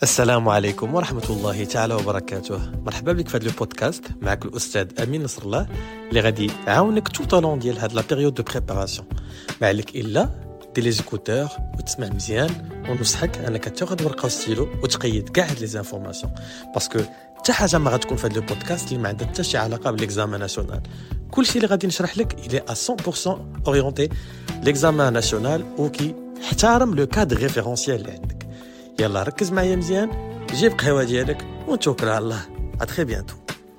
السلام عليكم ورحمة الله تعالى وبركاته. مرحبا بك في هذا البودكاست. معك الأستاذ أمين نصر الله اللي غادي يعاونك tout au long ديال هاد لا بيريود دو بريباراسيون. ما عليك إلا دير لي زيكوتور وتسمع مزيان، ونصحك أنك تاخذ ورقة وستيلو وتقيد كاع هاد لي زانفورماسيون، باسكو حتى حاجة ما غتكون في هاد البودكاست اللي ما عندها حتى شي علاقة بالإكزامان ناسيونال. كلشي اللي غادي نشرح لك إلي à 100% أورينتي لإكزامان ناسيونال وكي احترم لو كادر ريفيرونسيال اللي عندك. يلا ركز معايا مزيان، جيب قهوة ديالك ونتوكل على الله. اتري بيانتو.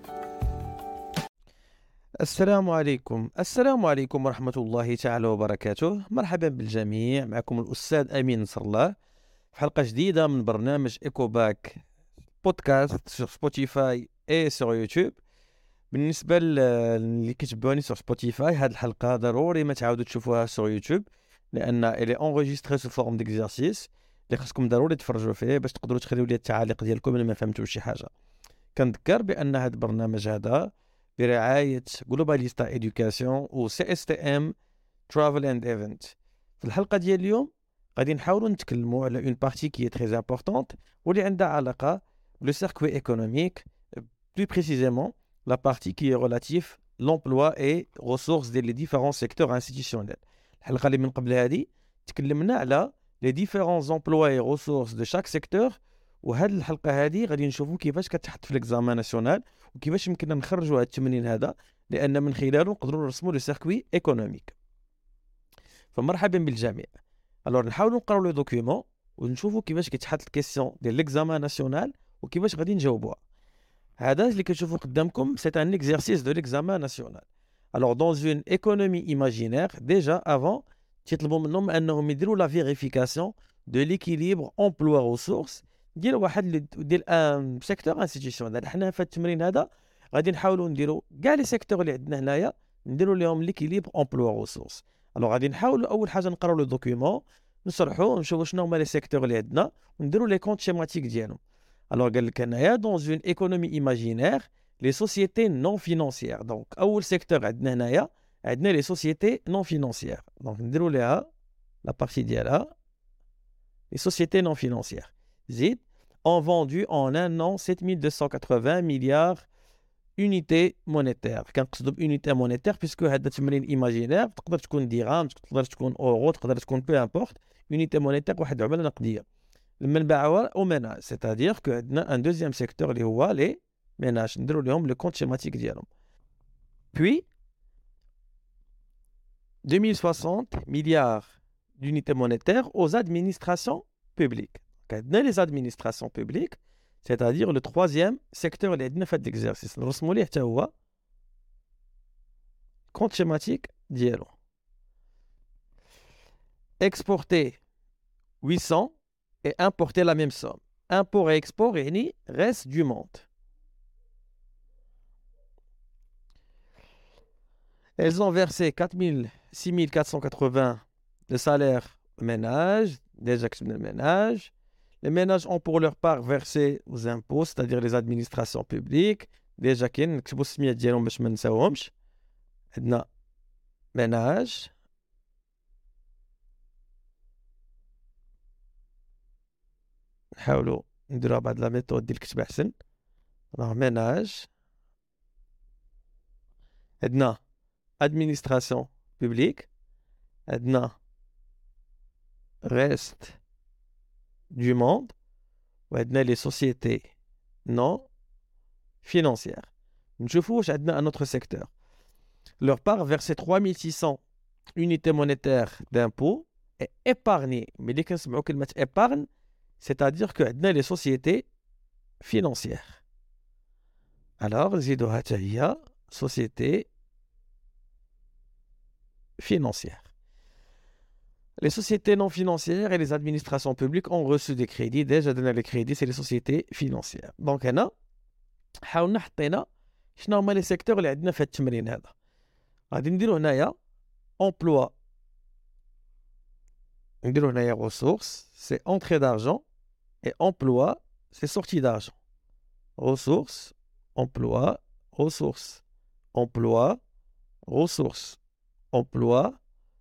السلام عليكم ورحمة الله تعالى وبركاته. مرحبا بالجميع، معكم الأستاذ أمين نصر الله في حلقة جديدة من برنامج إيكو باك بودكاست sur سبوتيفاي et sur يوتيوب. بالنسبة اللي كتبوني sur سبوتيفاي، هاد الحلقة ضروري ما تعاودوا تشوفوها sur يوتيوب، لأن إلي enregistrée sous forme d'exercice اللي خاصكم ضروري تفرجوا فيه باش تقدروا تخليو لي التعاليق ديالكم الا ما فهمتوش شي حاجه. كنذكر بان هذا البرنامج هذا برعايه جلوباليستا ادوكاسيون و سي اس تي ام ترافل اند ايفنت. في الحلقه ديال اليوم غادي نحاولوا نتكلموا على اون بارتي كي تري امبورطونت واللي عندها علاقه لو سيركوي ايكونوميك، بلو بريسيزيمون لا بارتي كي ريلاتيف لومبلوا اي ريسورس ديال لي ديفيرون سيكتور انستيتيسيونيل. الحلقه اللي من قبل هذه تكلمنا على les différents emplois et ressources de chaque secteur، وهاد الحلقه هذه غادي نشوفوا كيفاش كتحط في الاكزامان ناسيونال وكيفاش يمكننا نخرجوا هذا التمرين هذا، لان من خلاله نقدروا نرسموا لو سيركوي ايكونوميك. فمرحبا بالجميع. الوغ نحاولوا نقراو لو دوكيومون ونشوفوا كيفاش كيتحط الكيسيون ديال الاكزامان ناسيونال وكيفاش غادي نجاوبوها. هذا اللي كتشوفوا قدامكم سي ان اكزercice دو الاكزامان ناسيونال. الوغ دون اون ايكونومي ايماجينير ديجا افون تيطلبوا منهم انهم يديروا لا فيريفيكاسيون دو ليكيليبر امبلوا ريسورس ديال واحد ديال ان سيكتور انستيتيسيونيل. حنا في التمرين هذا غادي نحاولوا نديروا كاع لي سيكتور اللي عندنا هنايا نديروا لهم ليكيليبر امبلوا ريسورس. الوغ غادي نحاولوا اول حاجه نقراو لو دوكيومون، نشرحوا ونشوفوا شنو هما لي سيكتور اللي عندنا ونديروا لي كونط شيماتيك ديالهم. الوغ قال لك هنايا دون اون ايكونومي ايماجينير لي سوسيتي نون فينانسيير. دونك اول سيكتور عندنا هنايا عندنا لي سوسيتي نون فينانسيير. دونك نديروا ليها لا بارتي ديالها لي سوسيتي نون فينانسيير. زيد ont vendu en un an 7280 milliards unités monétaires. كنقصدوا بونيتي مونيتير بيسكو هذا تمرين ايماجينير، تقدر تكون درهم، تقدر تكون اورو، تقدر تكون بو امبورت. يونيتي مونيتير واحد العمله نقديه لما نباعوها او ميناج، سيتادير كو عندنا ان دوزيام سيكتور اللي هو لي ميناج، نديروا لهم لو كونط شيماتيك ديالهم. puis 2060 milliards d'unités monétaires aux administrations publiques. Les administrations publiques, c'est-à-dire le troisième secteur اللي عندنا في هذا l'exercice. نرسموا ليه حتى هو compte schématique ديالو. Exporter 800 et importer la même somme. Import et export يعني reste du monde. Elles ont versé 6480 de salaire ménage, déjà que c'est le ménage. Les ménages ont pour leur part versé aux impôts, c'est-à-dire les administrations publiques. Déjà qu'il y a نكتبوا السميات ديالهم باش ما نساوهمش. عندنا ménage. نحاولوا نديروها بعد لا ميثود ديال الكتابة احسن. ménage. عندنا administration publique. عندنا reste du monde. وعندنا les sociétés non financières. نشوفوا واش عندنا un autre secteur. Leur part versé 3600 unités monétaires d'impôts et épargné. Mais اللي كنسمعوا كلمة épargne, c'est-à-dire que عندنا les sociétés financières. Alors نزيدوها حتى هي sociétés financières. Les sociétés non financières et les administrations publiques ont reçu des crédits. Déjà donné les crédits, c'est les sociétés financières. Donc هنا حاولنا حطينا شنو هما لي سيكتور اللي عندنا في هذا التمرين هذا. غادي نديرو هنايا emploi، نديرو هنايا ressources c'est entrée d'argent et emploi c'est sortie d'argent. Ressources, emploi, ressources, emploi, ressources, emploi,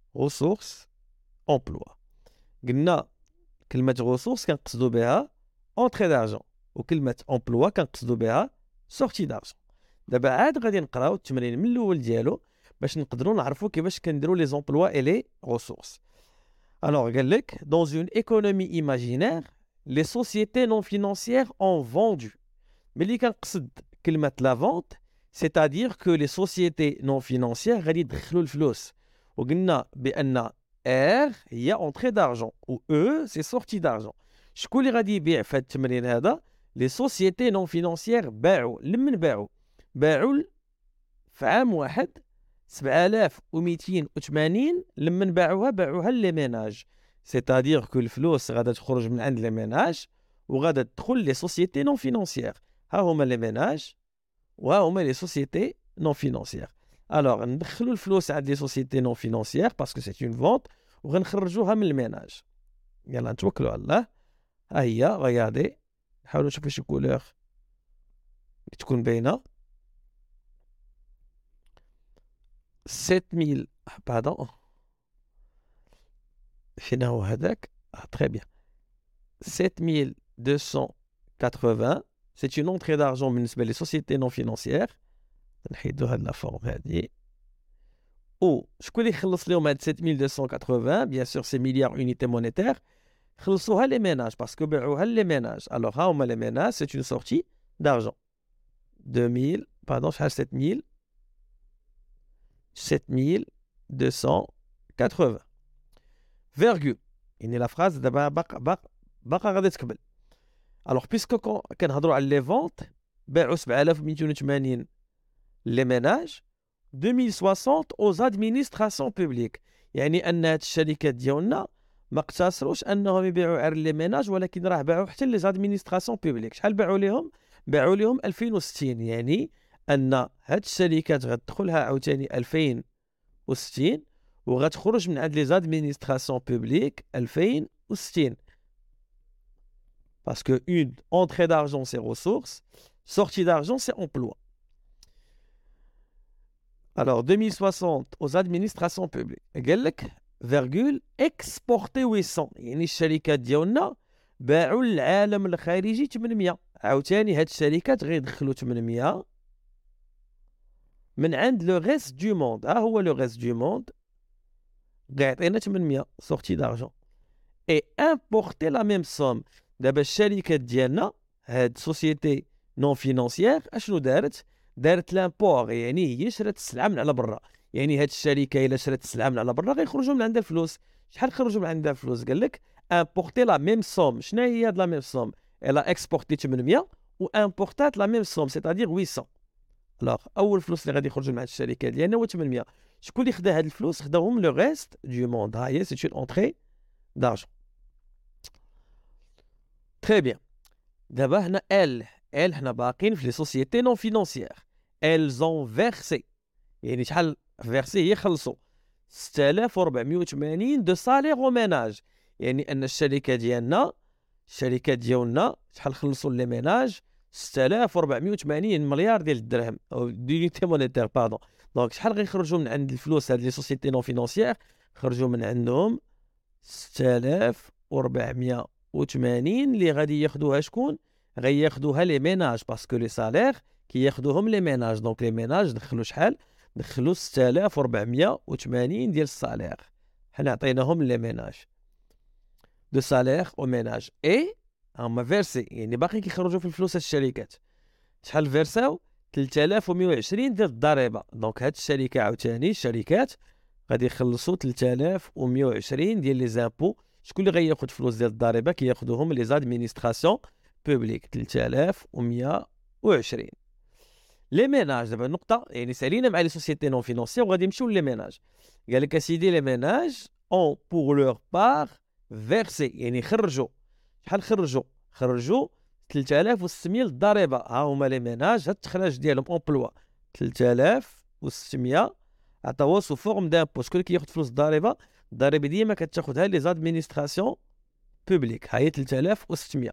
ressources, emploi. قلنا كلمة ressources كنقصدو بها entrée d'argent وكلمة emploi كنقصدوا بها sortie d'argent. دابا عاد غادي نقراو التمرين من الاول ديالو باش نقدروا نعرفوا كيفاش كنديروا لي زومبلوا اي لي ressources. Alors قال لك dans une économie imaginaire les sociétés non financières ont vendu. ملي كنقصد كلمة la vente c'est-à-dire que les sociétés non financières غادي يدخلوا الفلوس وقلنا بأن R هي entrée d'argent و E c'est sortie d'argent. شكون اللي غادي يبيع في هذا التمرين هذا؟ les sociétés non financières باعوا. لمن باعوا في عام واحد 7280 لمن باعوها لي ميناج. c'est-à-dire que الفلوس غادا تخرج من عند لي ميناج وغادا تدخل لي سوسيتي نون فينانسيير. ها هما لي ميناج وها هما لي سوسيتي نون فينانسيير. الوغ ندخلوا الفلوس عند لي سوسيتي نون فينانسيير باسكو سي اون فونت وغنخرجوها من الميناج. يلا نتوكلوا على الله. ها هي غيادي نحاولوا نشوفوا شي كولور تكون باينه. 7000 pardon فين هو هذاك très bien 7280 c'est une entrée d'argent بالنسبه لي sociétés non financières. نحيدوا هاد لا فورم هادي او شكون اللي يخلص لهم هاد 7280 بيان سور سي مليار اونيتي مونيتير خلصوها لي ميناج باسكو باعوها لي ميناج. الوغ ها هما لي ميناج سي اون سورتي d'argent 2000 pardon شحال 7280 فيرغول يعني لا فراز دابا باقا غادي تكمل. الوغ بيسكو كنهضروا على لي فونت باعوا 7280 لي ميناج 2060 aux administrations publiques. يعني ان هاد الشركات ديالنا ما اقتصروش انهم يبيعوا على لي ميناج ولكن راه باعوا حتى لي زادمينستراسيون بوبليك. شحال باعوا لهم 2060. يعني ان هاد الشركات غتدخلها عاوتاني 2060 وغتخرج من عند لي زادمينستراسيون بوبليك 2060 باسكو اون entrée d'argent c'est ressources, sortie d'argent c'est emploi. Alors 2060 aux administrations publiques قال لك فيرغول اكسبورتي 800 يعني الشركات ديالنا باعوا للعالم الخارجي 800. عاوتاني هاد الشركات غيدخلوا 800 من عند لو ريست دو موند. ها هو لو ريست دو موند غيعطينا 800 سورتي دارجون اي امبورتي لا ميم سوم. دابا الشركات ديالنا هاد سوسيتي نون فينانسيير اشنو دارت لامبور يعني هي شرات السلعه من على برا. يعني هاد الشركه الا شرات السلعه من على برا غيخرجوا من عندها الفلوس. شحال خرجوا من عندها الفلوس؟ قال لك امبورتي لا ميم سوم. شنو هي هاد لا ميم سوم؟ الا اكسبورتي 800 و امبورتات لا ميم سوم سيتادير 800. الوغ اول فلوس اللي غادي يخرجوا مع الشركه ديالنا هو 800. شكون اللي خدا هاد الفلوس؟ خداهم لو ريست دو موند. ها هي سي اون اونطري دارجون. تري بيان. دابا هنا ال حنا باقيين في لي سوسيتي نون فينانسيير. elles ont versé يعني شحال فيرسي هي خلصوا 6480 دو سالير او ميناج. يعني ان الشركه ديالنا شحال خلصوا لي ميناج 6480 مليار ديال الدرهم او دونيتي مونيتير باردون. دونك شحال غيخرجوا من عند الفلوس هاد لي سوسيتي نون فينانسيير؟ خرجوا من عندهم 6480 اللي غادي ياخذوها شكون؟ غياخذوها لي ميناج باسكو لي سالير كياخذوهم لي ميناج. دونك لي ميناج دخلوا شحال؟ دخلوا 6480 ديال السالير حنا عطيناهم لي ميناج دو سالير او ميناج اي هما فيرسي يعني باقي كيخرجوا في الفلوس. الشركات شحال فيرساو؟ 3120 ديال الضريبه. دونك هاد الشركه عاوتاني الشركات غادي يخلصوا 3120 ديال لي زامبو. شكون اللي غياخذ فلوس ديال الضريبه؟ كياخذوهم لي زادمينستراسيون بوبليك 3120. لي ميناج دابا النقطه يعني سالينا مع لي سوسيتي نون فينانسيير وغادي نمشيو لي ميناج. قال لك اسيدي لي ميناج اون بور لور بار فيرسي يعني خرجوا شحال؟ خرجوا 3600 للضريبه. ها هما لي ميناج هاد التخراج ديالهم امبلوا 3600 عطاوها سو فورم دامبو. شكون اللي كياخذ فلوس الضريبه؟ الضريبه ديما كتاخذها لي زادمينستراسيون بوبليك. ها هي 3600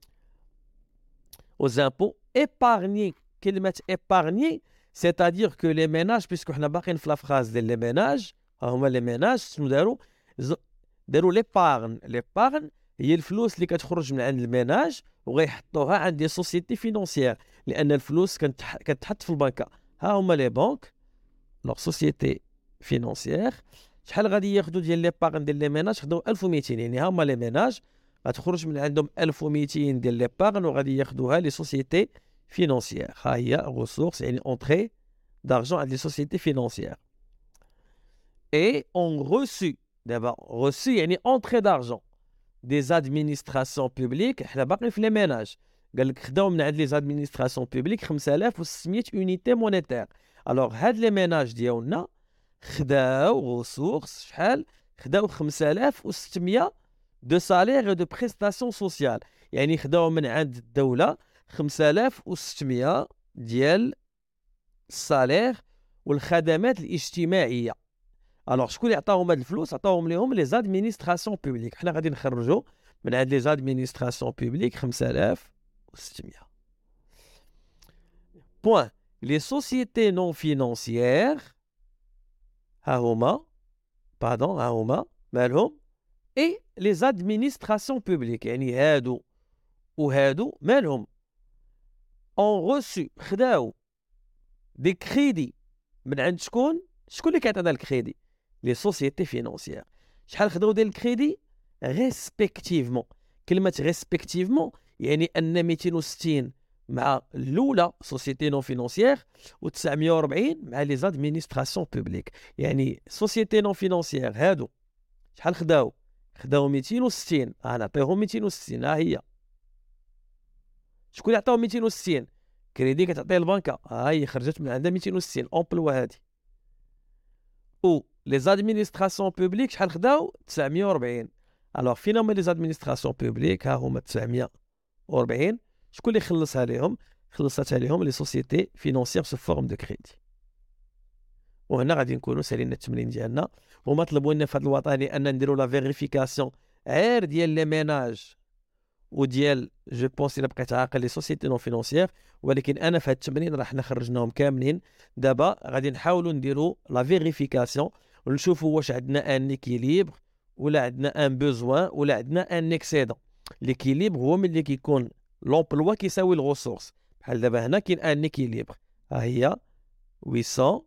aux impôts épargnés. كلمة épargner c'est-à-dire que les ménages puisque حنا باقيين في لا فراز ديال لي ميناج ها هما لي ميناج شنو داروا؟ داروا ليبارن. ليبارن هي الفلوس اللي كتخرج من عند الميناج وغيحطوها عند دي سوسيتي فينونسيير، لان الفلوس كتحط في البنكه. ها هما لي بانك لوغ سوسيتي فينونسيير. شحال غادي ياخذوا ديال لي باغن ديال لي ميناج؟ خداو 1200. يعني ها هما لي ميناج غتخرج من عندهم 1200 ديال لي باغن وغادي ياخذوها لي سوسيتي فينونسيير. ها هي غوسورس يعني اونتري d'argent عند لي سوسيتي فينونسيير. et ont reçu d'abord reçu يعني entrée d'argent des administrations publiques. حنا باقي في لي ميناج، قال لك خداو من عند لي زادمينستراسيون بوبليك 5600 يونيتي مونيتير. الوغ هاد لي ميناج ديالنا خداو غوسورس شحال؟ خداو 5600 دو سالير دو بريستاسيون سوسيال. يعني خداو من عند الدوله 5600 ديال السالير والخدمات الاجتماعيه. الوغ شكون اللي عطاهم هاد الفلوس؟ عطاهم ليهم لي زادمينستراسيون بوبليك. حنا غادي نخرجوا من عند لي زادمينستراسيون بوبليك 5600. بوين. لي سوسيتي نون فينونسيير ها هما مالهم؟ اي لي زادمينستراسيون بوبليك يعني هادو وهادو مالهم؟ اون روسو خداو دي كريدي من عند شكون اللي كيعطينا الكريدي؟ لي سوسيتي فينونسيير. شحال خداو ديال الكريدي؟ ريسبكتيفمون. كلمه ريسبكتيفمون يعني ان 260 مع الاولى سوسيتي نون فينونسيير و940 مع لي زادمينستراسيون بوبليك. يعني سوسيتي نون فينونسيير هادو شحال خداو 260. نعطيهم 260. ها هي شكون اللي عطاهم 260؟ كريدي كتعطيه البنكه. ها هي خرجت من عندها 260 امبلوا هادي. و لي زادمينستراسيون بوبليك شحال خداو 940. الوغ فين هما لي زادمينستراسيون بوبليك؟ ها هما 940. شكون اللي خلصها لهم؟ خلصتها لهم لي سوسيتي فينونسيير سو فورم دو كريدي. وهنا غادي نكونوا سالينا التمرين ديالنا. هما طلبوا لنا في هذا الوطني ان نديروا لا فيريفيكاسيون غير ديال لي ميناج وديال جو بونس الا بقيت عاقل لي سوسيتي نون فينونسيير، ولكن انا في هذا التمرين راه حنا خرجناهم كاملين. دابا غادي نحاولوا نديروا لا فيريفيكاسيون ونشوفوا واش عندنا ان ايكيليبر ولا عندنا ان بوزوان ولا عندنا ان اكسيدون. ليكيليبر هو ملي كيكون لومبلوا كيساوي الغوسورس. بحال دابا هنا كاين ان ايكيليبر. ها هي 800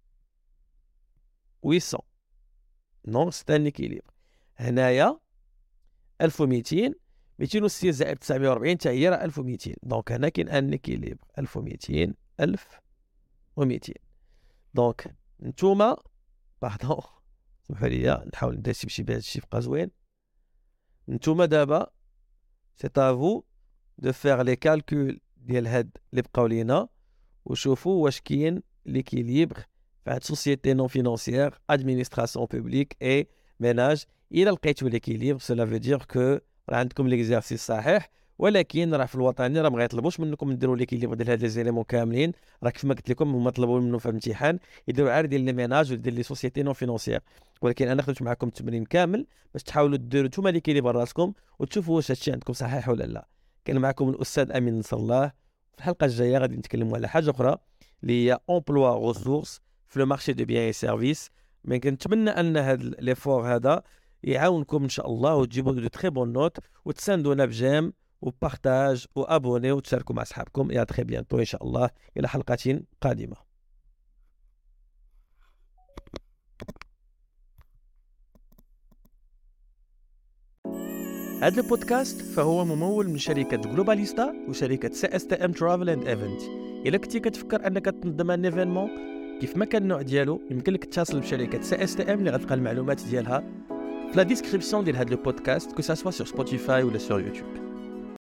نون سي ان ايكيليبر. هنايا 1200 260 زائد 940 حتى هي راه 1200. دونك هنا كاين ان ايكيليبر 1200 1200. دونك نتوما باردون سمحوا لي نحاول ندير شي بهذا الشيء يبقى زوين. نتوما دابا سي افو دو فيغ لي كالكول ديال هاد اللي بقاو لينا وشوفوا واش كاين ليكيليبر في هاد سوسيتي نون فينونسيير ادمينستراسيون بوبليك اي ميناج. الا لقيتوا ليكيليبر سولا فو دير كو راه عندكم ليكزارسيس صحيح. ولكن راه في الوطني راه ما غيطلبوش منكم ديروا ليكيليبر ديال هاد لي زيليمون كاملين. راه كيف ما قلت لكم هما طلبوا منه في الامتحان يديروا عار ديال لي ميناج وديال لي سوسيتي نون فينونسيير. ولكن انا خدمت معكم التمرين كامل باش تحاولوا ديروا نتوما ليكيليبر راسكم وتشوفوا واش هادشي عندكم صحيح ولا لا. كان معكم الاستاذ امين نصر الله. في الحلقه الجايه غادي نتكلموا على حاجه اخرى اللي هي امبلوا غوسورس في لو مارشي دو بيان اي سيرفيس. مي كنتمنى ان هذا ليفور هذا يعاونكم ان شاء الله وتجيبوا دو تري بون نوت وتساندونا بجيم وبارتاج وابوني وتشاركوا مع اصحابكم. يا تري بيانتو ان شاء الله الى حلقه قادمه. هذا البودكاست فهو ممول من شركة جلوباليستا وشركة CSTM Travel and Event. إلا كنتي كتفكر أنك تنظم ان ايفينمون كيف ما كان النوع ديالو يمكن لك تتصل بشركة CSTM اللي غتلقى المعلومات ديالها في لا ديسكريبسيون ديال هذا البودكاست كو سا سوا سور سبوتيفاي ولا سور يوتيوب.